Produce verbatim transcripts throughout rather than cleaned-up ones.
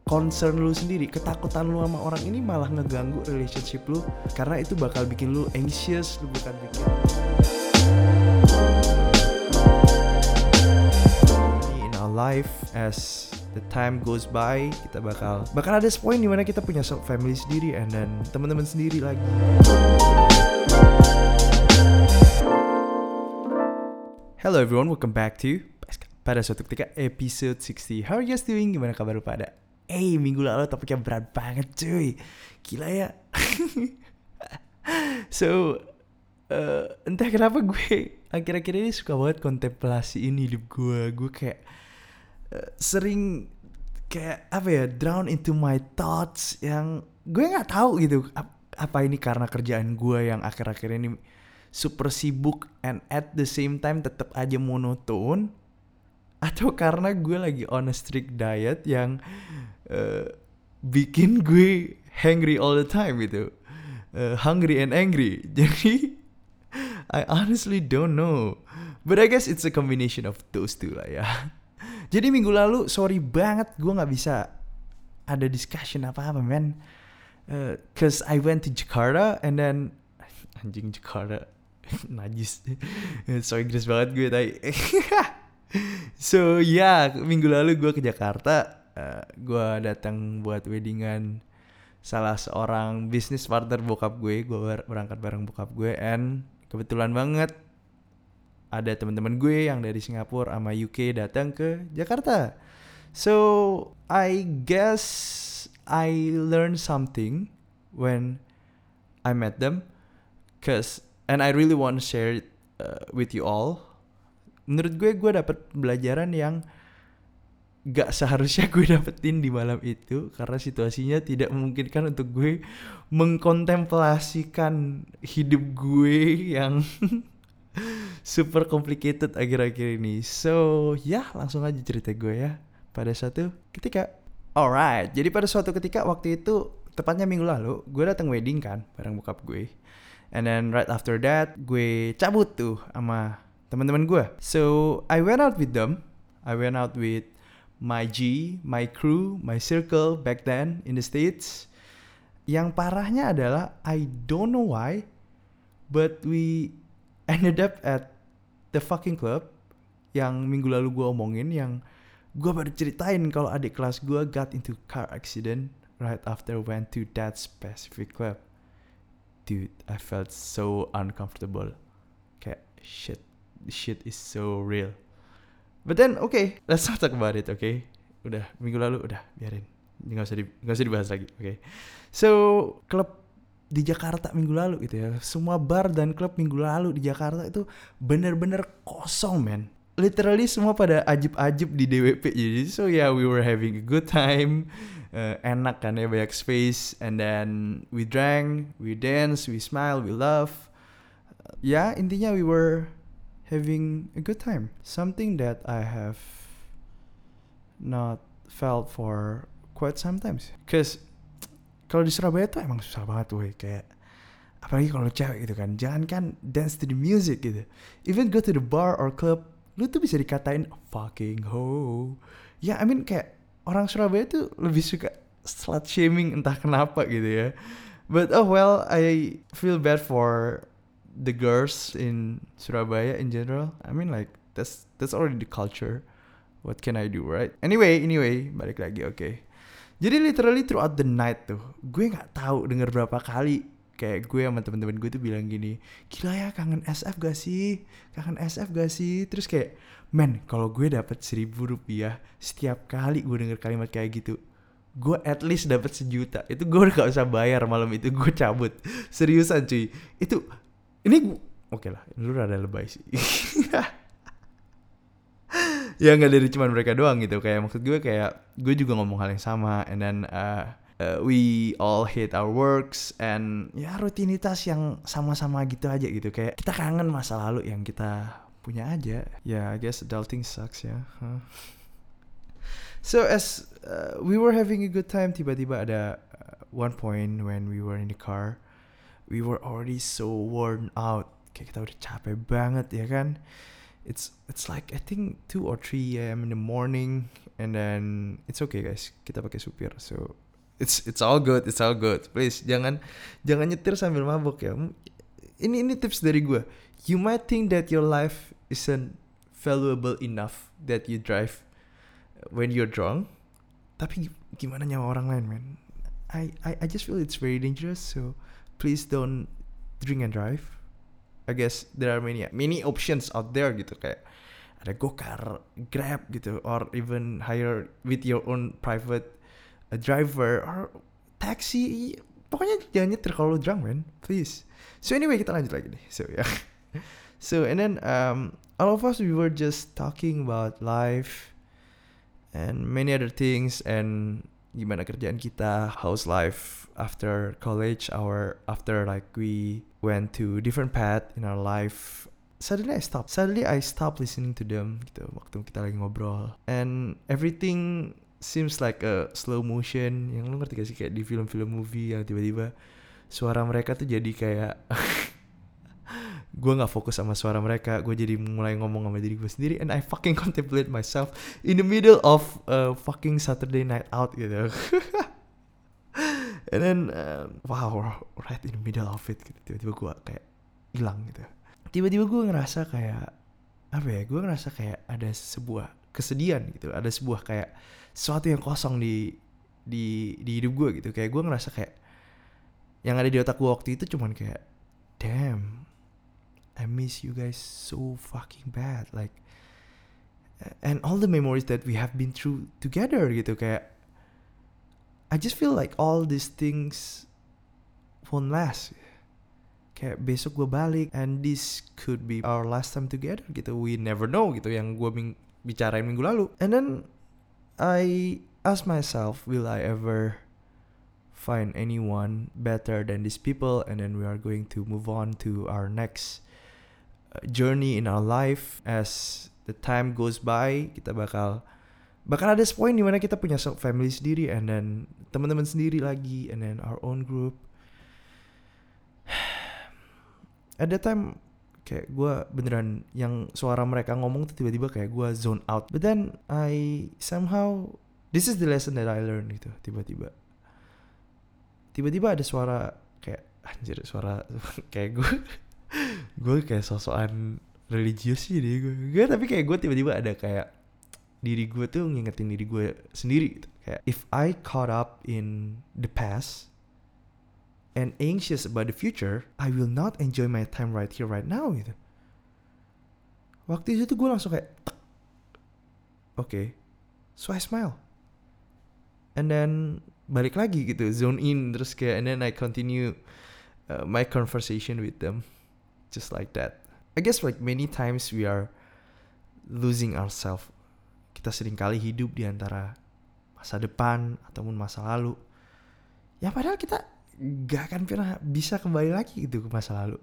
concern lu sendiri, ketakutan lu sama orang ini malah ngeganggu relationship lu, karena itu bakal bikin lu anxious, lu bukan bikin in our life as the time goes by, kita bakal bakal ada point dimana kita punya family sendiri and then teman-teman sendiri lagi. Hello everyone, welcome back to pada suatu ketika episode enam puluh. How are you guys doing? Gimana kabar lu pada? Eh, hey, minggu lalu topiknya berat banget cuy. Gila ya. So, uh, entah kenapa gue akhir-akhir ini suka banget kontemplasi ini hidup gue. Gue kayak uh, sering kayak apa ya, drown into my thoughts yang gue nggak tahu gitu. Apa ini karena kerjaan gue yang akhir-akhir ini super sibuk and at the same time tetap aja monoton, atau karena gue lagi on a strict diet yang uh, bikin gue hungry all the time gitu, uh, hungry and angry. Jadi I honestly don't know, but I guess it's a combination of those two lah ya. Jadi minggu lalu sorry banget gue nggak bisa ada discussion apa-apa man, uh, cause I went to Jakarta and then anjing Jakarta najis, so Inggris banget gue tadi. So ya yeah, minggu lalu gue ke Jakarta, uh, gue datang buat weddingan salah seorang bisnis partner bokap gue. Gue berangkat bareng bokap gue, and kebetulan banget ada teman-teman gue yang dari Singapura sama U K datang ke Jakarta. So I guess I learned something when I met them, cause and I really want to share it uh, with you all. Menurut gue, gue dapet pelajaran yang gak seharusnya gue dapetin di malam itu, karena situasinya tidak memungkinkan untuk gue mengkontemplasikan hidup gue yang super complicated akhir-akhir ini. So ya, langsung aja cerita gue ya. Pada suatu ketika, alright, jadi pada suatu ketika waktu itu, tepatnya minggu lalu, gue datang wedding kan bareng bokap gue. And then right after that, gue cabut tuh sama teman-teman gue. So I went out with them. I went out with my G, my crew, my circle back then in the States. Yang parahnya adalah I don't know why, but we ended up at the fucking club yang minggu lalu gue omongin, yang gue baru ceritain kalau adik kelas gue got into car accident right after went to that specific club. Dude, I felt so uncomfortable. Kayak shit, this shit is so real. But then, okay, let's not talk about it, okay? Udah, minggu lalu, udah, biarin. Nggak usah, di, nggak usah dibahas lagi, okay? So, klub di Jakarta minggu lalu gitu ya. Semua bar dan klub minggu lalu di Jakarta itu bener-bener kosong, man. Literally semua pada ajib-ajib di D W P. Jadi, so yeah, we were having a good time. Uh, enak kan ya, banyak space. And then we drank, we danced, we smiled, we laughed. Uh, ya, intinya we were having a good time. Something that I have not felt for quite some times. Cause kalau di Surabaya tuh emang susah banget tuh, kayak apalagi kalau cewek gitu kan, jangan kan dance to the music gitu. Even go to the bar or club, lu tuh bisa dikatain fucking ho. Ya, I mean kayak orang Surabaya tuh lebih suka slut shaming entah kenapa gitu ya. But oh well, I feel bad for the girls in Surabaya in general. I mean like that's that's already the culture. What can I do, right? Anyway, anyway, balik lagi, oke. Okay. Jadi literally throughout the night tuh, gue nggak tahu denger berapa kali kayak gue sama teman-teman gue tuh bilang gini, gila ya, kangen S F gak sih? Kangen S F gak sih? Terus kayak, man, kalau gue dapat seribu rupiah setiap kali gue denger kalimat kayak gitu, gue at least dapat sejuta. Itu gue udah gak usah bayar malam itu, gue cabut. Seriusan cuy. Itu, ini, oke okay lah, lu rada lebay sih. Ya gak dari cuman mereka doang gitu. Kayak maksud gue kayak, gue juga ngomong hal yang sama. And then, uh, Uh, we all hate our works and ya rutinitas yang sama-sama gitu aja gitu, kayak kita kangen masa lalu yang kita punya aja. Ya, yeah, I guess adulting sucks ya. Huh? So as uh, we were having a good time, tiba-tiba ada uh, one point when we were in the car, we were already so worn out, kayak kita udah capek banget ya kan. It's it's like I think two or three a m in the morning, and then it's okay guys, kita pakai supir, so it's it's all good, it's all good. Please jangan jangan nyetir sambil mabuk ya. Ini ini tips dari gue. You might think that your life isn't valuable enough that you drive when you're drunk, tapi gimana nyawa orang lain, man? I, I I just feel it's very dangerous, so please don't drink and drive. I guess there are many many options out there gitu, kayak ada Gokar, Grab gitu, or even hire with your own private uh, driver or taxi. Pokoknya jangan nyetir kalau drunk, man, please. So anyway, kita lanjut lagi nih. So yeah. So and then um all of us, we were just talking about life and many other things, and gimana kerjaan kita, how's life after college, our after like we went to different path in our life. Suddenly I stopped. Suddenly I stopped listening to them gitu waktu kita lagi ngobrol, and everything seems like a slow motion. Yang lu ngerti gak sih, kayak di film-film movie yang tiba-tiba suara mereka tuh jadi kayak gue gak fokus sama suara mereka, gue jadi mulai ngomong sama diri gue sendiri, and I fucking contemplate myself in the middle of a fucking Saturday night out gitu. And then uh, wow, right in the middle of it gitu, tiba-tiba gue kayak hilang gitu. Tiba-tiba gue ngerasa kayak apa ya, gue ngerasa kayak ada sebuah kesedihan gitu, ada sebuah kayak sesuatu yang kosong di di di hidup gue gitu. Kayak gue ngerasa kayak yang ada di otak gue waktu itu cuman kayak, damn, I miss you guys so fucking bad, like, and all the memories that we have been through together gitu. Kayak I just feel like all these things won't last. Kayak besok gue balik, and this could be our last time together gitu. We never know gitu, yang gue ming- bicarain minggu lalu. And then I ask myself, will I ever find anyone better than these people? And then we are going to move on to our next journey in our life. As the time goes by, kita bakal bakal ada point di mana kita punya family sendiri, and then teman-teman sendiri lagi, and then our own group. At that time kayak gue beneran yang suara mereka ngomong tuh tiba-tiba kayak gue zone out. But then I somehow, this is the lesson that I learned gitu. Tiba-tiba Tiba-tiba ada suara kayak anjir, suara kayak gue gue kayak sosokan religius sih deh gue. Gak, tapi kayak gue tiba-tiba ada kayak diri gue tuh ngingetin diri gue sendiri gitu. Kayak if I caught up in the past and anxious about the future, I will not enjoy my time right here right now gitu. Waktu itu tuh gue langsung kayak oke, okay. So I smile, and then balik lagi gitu, zone in terus kayak, and then I continue uh, my conversation with them just like that. I guess like many times we are losing ourselves. Kita sering kali hidup di antara masa depan ataupun masa lalu, ya padahal kita gak akan pernah bisa kembali lagi gitu ke masa lalu.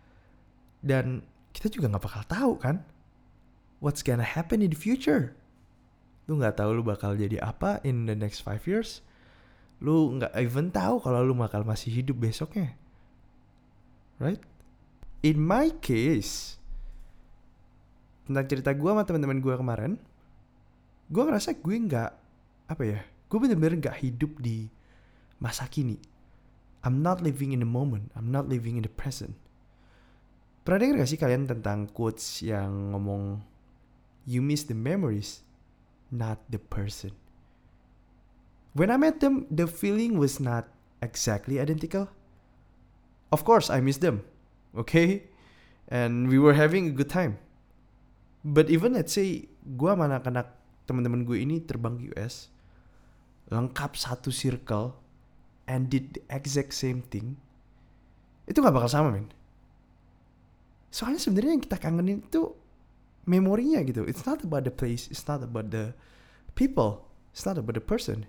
Dan kita juga gak bakal tahu kan what's gonna happen in the future. Lu gak tahu lu bakal jadi apa in the next five years. Lu gak even tahu kalau lu bakal masih hidup besoknya, right? In my case, tentang cerita gue sama teman-teman gue kemarin, gue ngerasa gue gak, apa ya, gue bener-bener gak hidup di masa kini. I'm not living in the moment. I'm not living in the present. Pernah denger gak sih kalian tentang quotes yang ngomong, you miss the memories, not the person. When I met them, the feeling was not exactly identical. Of course, I miss them, okay? And we were having a good time. But even let's say, gue sama anak-anak teman-teman gue ini terbang ke U S, lengkap satu circle, and did the exact same thing, itu gak bakal sama, men. Soalnya sebenarnya yang kita kangenin itu memorinya gitu. It's not about the place, it's not about the people, it's not about the person.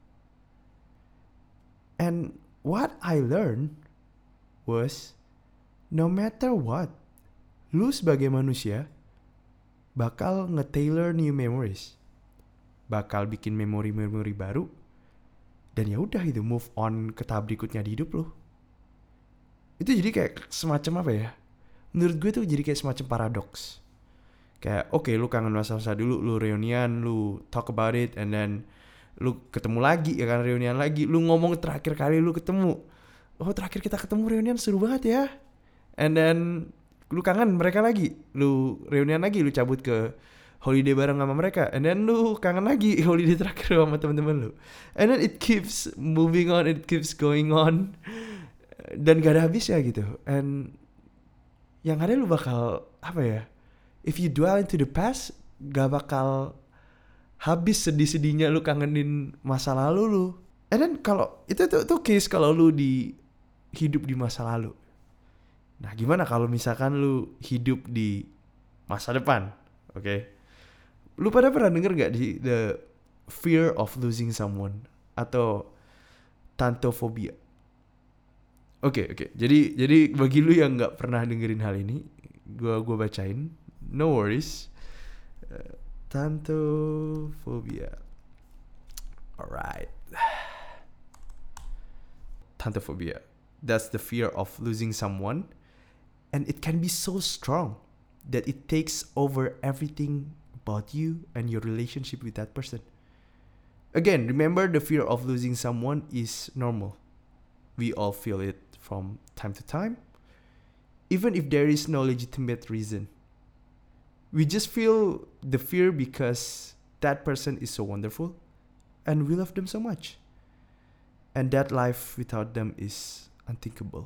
And what I learned was, no matter what, lu sebagai manusia bakal nge-tailor new memories, bakal bikin memori-memori baru. Dan ya udah itu, move on ke tahap berikutnya di hidup lo. Itu jadi kayak semacam apa ya? Menurut gue tuh jadi kayak semacam paradoks. Kayak oke okay, lu kangen masa-masa dulu, lu reunian, lu talk about it, and then lu ketemu lagi ya kan, reunian lagi, lu ngomong terakhir kali lu ketemu, oh terakhir kita ketemu reunian seru banget ya, and then lu kangen mereka lagi, lu reunian lagi, lu cabut ke holiday bareng sama mereka, and then lu kangen lagi holiday terakhir sama teman-teman lu, and then it keeps moving on, it keeps going on, dan gak ada habisnya gitu. And yang ada lu bakal apa ya, if you dwell into the past, gak bakal habis sedih-sedihnya lu kangenin masa lalu lu. And then kalau itu tuh tuh case kalau lu di hidup di masa lalu. Nah, gimana kalau misalkan lu hidup di masa depan? Oke. Okay? Lu pada pernah denger gak di the fear of losing someone atau thanatophobia? Oke, okay, oke. Okay. Jadi jadi bagi lu yang enggak pernah dengerin hal ini, gua gua bacain. No worries. Uh, Thanatophobia. Alright. Thanatophobia. That's the fear of losing someone. And it can be so strong that it takes over everything about you and your relationship with that person. Again, remember the fear of losing someone is normal. We all feel it from time to time. Even if there is no legitimate reason. We just feel the fear because that person is so wonderful and we love them so much. And that life without them is unthinkable.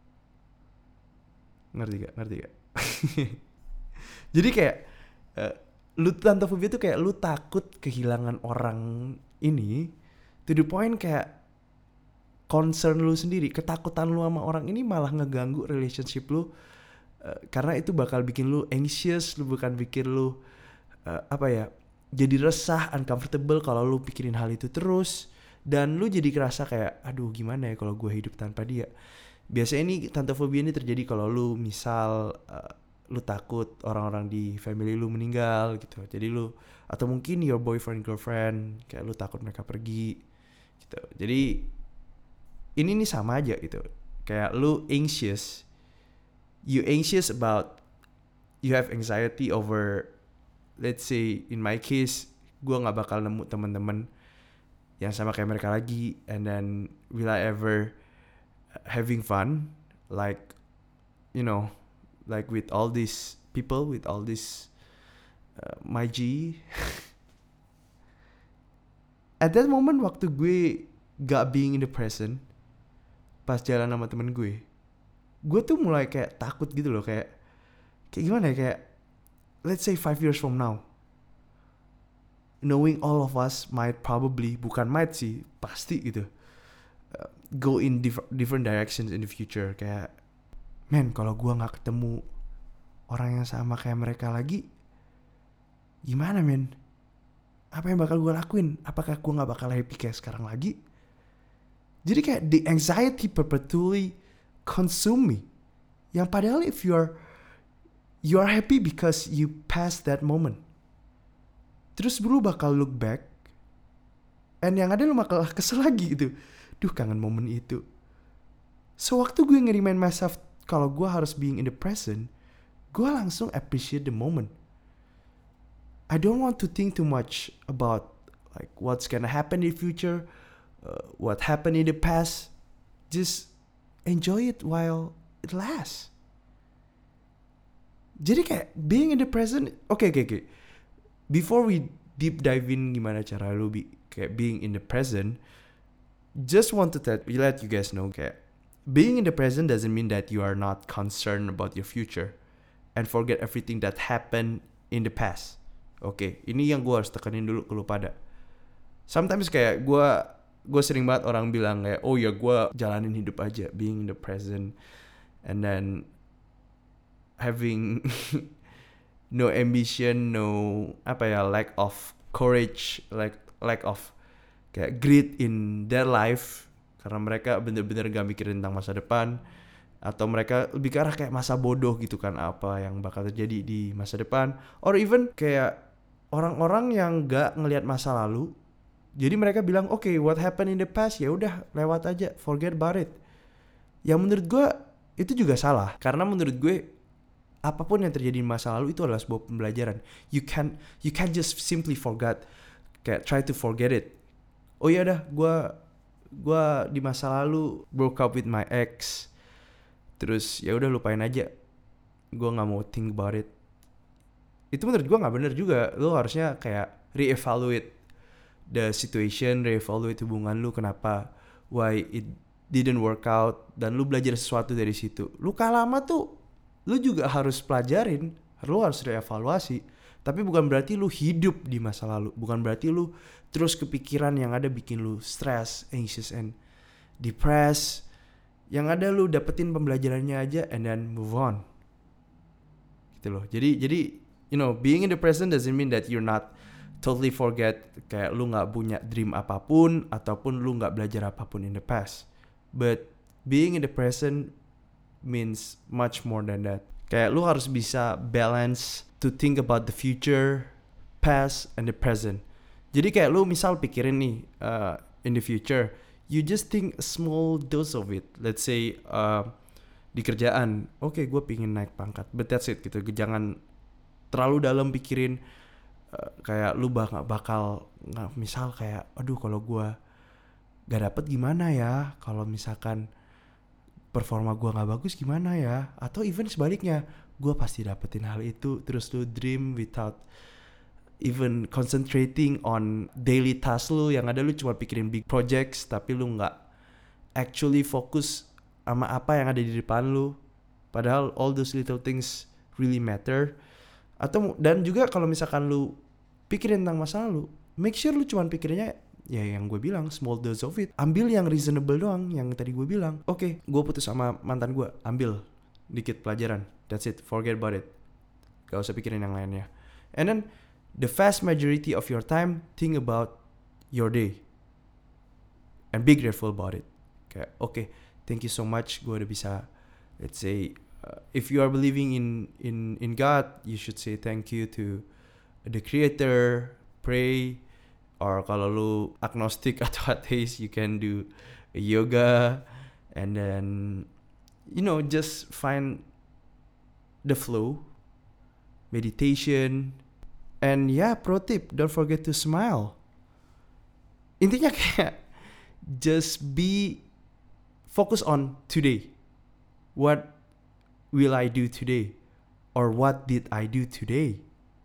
Ngerti gak? Ngerti gak? Jadi kayak uh, lu thanatophobia tuh kayak lu takut kehilangan orang ini to the point kayak concern lu sendiri, ketakutan lu sama orang ini malah ngeganggu relationship lu. Uh, karena itu bakal bikin lu anxious, lu bukan bikin lu uh, apa ya, jadi resah, uncomfortable kalau lu pikirin hal itu terus, dan lu jadi kerasa kayak aduh gimana ya kalau gue hidup tanpa dia. Biasanya ini thanatophobia ini terjadi kalau lu misal uh, lu takut orang-orang di family lu meninggal gitu, jadi lu atau mungkin your boyfriend girlfriend kayak lu takut mereka pergi gitu. Jadi ini nih sama aja gitu, kayak lu anxious. You anxious about, you have anxiety over, let's say in my case, gue gak bakal nemu teman-teman yang sama kayak mereka lagi, and then will I ever having fun, like, you know, like with all these people, with all this uh, my G. At that moment, waktu gue gak being in the present, pas jalan sama temen gue, gue tuh mulai kayak takut gitu loh, kayak kayak gimana ya, kayak let's say five years from now, knowing all of us might probably, bukan might sih, pasti gitu, uh, go in diff- different directions in the future. Kayak man, kalau gue nggak ketemu orang yang sama kayak mereka lagi, gimana men? Apa yang bakal gue lakuin? Apakah gue nggak bakal happy kayak sekarang lagi? Jadi kayak the anxiety perpetually consume me. Yang padahal if you're you are happy because you passed that moment. Terus lu bakal look back, and yang ada lu bakal kesel lagi gitu. Duh, kangen momen itu. So waktu gue nge-remind myself kalau gue harus being in the present, gue langsung appreciate the moment. I don't want to think too much about like what's gonna happen in the future, uh, what happened in the past. Just enjoy it while it lasts. Jadi kayak being in the present. Oke okay, oke okay, oke. Okay. Before we deep dive in gimana cara lu be, kayak being in the present, just want to let, let you guys know kayak being in the present doesn't mean that you are not concerned about your future and forget everything that happened in the past. Oke, okay, ini yang gue harus tekanin dulu ke lu pada. Sometimes kayak gue gue sering banget orang bilang kayak, oh ya gue jalanin hidup aja, being in the present, and then having no ambition, no apa ya, lack of courage, like lack of kayak grit in their life, karena mereka bener-bener gak mikirin tentang masa depan, atau mereka lebih ke arah kayak masa bodoh gitu kan, apa yang bakal terjadi di masa depan, or even kayak orang-orang yang gak ngelihat masa lalu. Jadi mereka bilang, oke, okay, what happened in the past, ya udah lewat aja, forget about it. Yang menurut gue itu juga salah, karena menurut gue apapun yang terjadi di masa lalu itu adalah sebuah pembelajaran. You can you can just simply forget, kayak try to forget it. Oh ya dah, gue gue di masa lalu broke up with my ex, terus ya udah lupain aja, gue nggak mau think about it. Itu menurut gue nggak bener juga. Lo harusnya kayak reevaluate the situation, reevaluate hubungan lu, kenapa, why it didn't work out, dan lu belajar sesuatu dari situ. Luka lama tuh lu juga harus pelajarin, lu harus reevaluasi. Tapi bukan berarti lu hidup di masa lalu, bukan berarti lu terus kepikiran yang ada bikin lu stress, anxious, and depressed. Yang ada lu dapetin pembelajarannya aja and then move on. Gitu loh. Jadi jadi you know, being in the present doesn't mean that you're not totally forget, kayak lu gak punya dream apapun, ataupun lu gak belajar apapun in the past. But being in the present means much more than that. Kayak lu harus bisa balance to think about the future, past, and the present. Jadi kayak lu misal pikirin nih, uh, in the future, you just think a small dose of it. Let's say uh, di kerjaan, oke okay, gue pingin naik pangkat, but that's it gitu. Jangan terlalu dalam pikirin uh, kayak lu bakal bakal nggak, misal kayak aduh kalau gue gak dapet gimana ya, kalau misalkan performa gue gak bagus gimana ya, atau even sebaliknya, gue pasti dapetin hal itu. Terus lu dream without even concentrating on daily task lu, yang ada lu cuma pikirin big projects tapi lu gak actually fokus sama apa yang ada di depan lu, padahal all those little things really matter. Atau dan juga kalau misalkan lu pikirin tentang masa lalu, make sure lu cuma pikirinnya ya yang gue bilang, small dose of it. Ambil yang reasonable doang, yang tadi gue bilang. Oke, okay, gue putus sama mantan gue, ambil dikit pelajaran, that's it, forget about it, gak usah pikirin yang lainnya. And then the vast majority of your time, think about your day and be grateful about it. Kayak oke, okay, thank you so much, gue udah bisa, let's say uh, if you are believing in in in God, you should say thank you to the creator, pray. Or kalau lu agnostic atau atheist, you can do yoga, and then you know, just find the flow, meditation, and yeah, pro tip, don't forget to smile. Intinya kayak just be focus on today. What will I do today? Or what did I do today?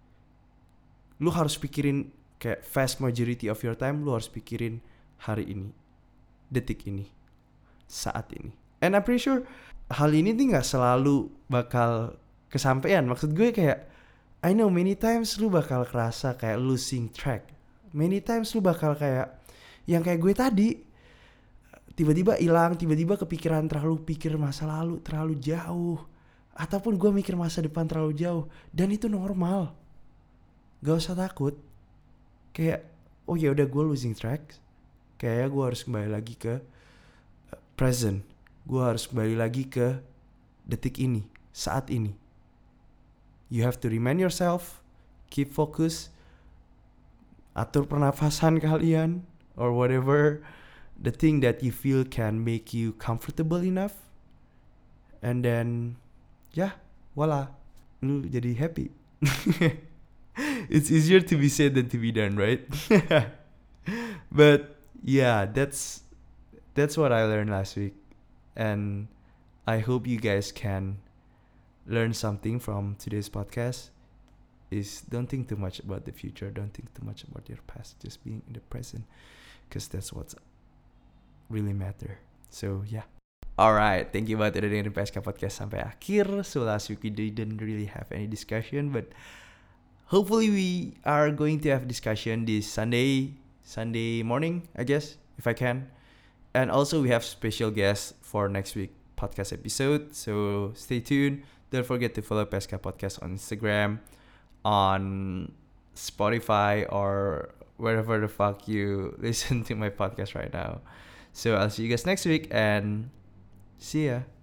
Lu harus pikirin kayak vast majority of your time, lu harus pikirin hari ini, detik ini, saat ini. And I'm pretty sure hal ini nih gak selalu bakal kesampaian. Maksud gue kayak, I know many times lu bakal kerasa kayak losing track. Many times lu bakal kayak, yang kayak gue tadi, tiba-tiba hilang, tiba-tiba kepikiran, terlalu pikir masa lalu terlalu jauh, ataupun gue mikir masa depan terlalu jauh. Dan itu normal, gak usah takut. Kayak oh ya udah, gue losing track, kayaknya gue harus kembali lagi ke present. Gue harus kembali lagi ke detik ini, saat ini. You have to remind yourself, keep focus, atur pernafasan kalian, or whatever the thing that you feel can make you comfortable enough. And then ya, yeah, voila, lu jadi happy. It's easier to be said than to be done, right? But yeah, that's that's what I learned last week, and I hope you guys can learn something from today's podcast. Is don't think too much about the future, don't think too much about your past, just being in the present, because that's what's really matter. So yeah. Alright, thank you banget udah dengerin P S K Podcast sampai akhir. So last week we didn't really have any discussion, but hopefully we are going to have discussion this Sunday, Sunday morning, I guess, if I can. And also we have special guests for next week podcast episode. So stay tuned. Don't forget to follow P S K Podcast on Instagram, on Spotify, or wherever the fuck you listen to my podcast right now. So I'll see you guys next week, and see ya.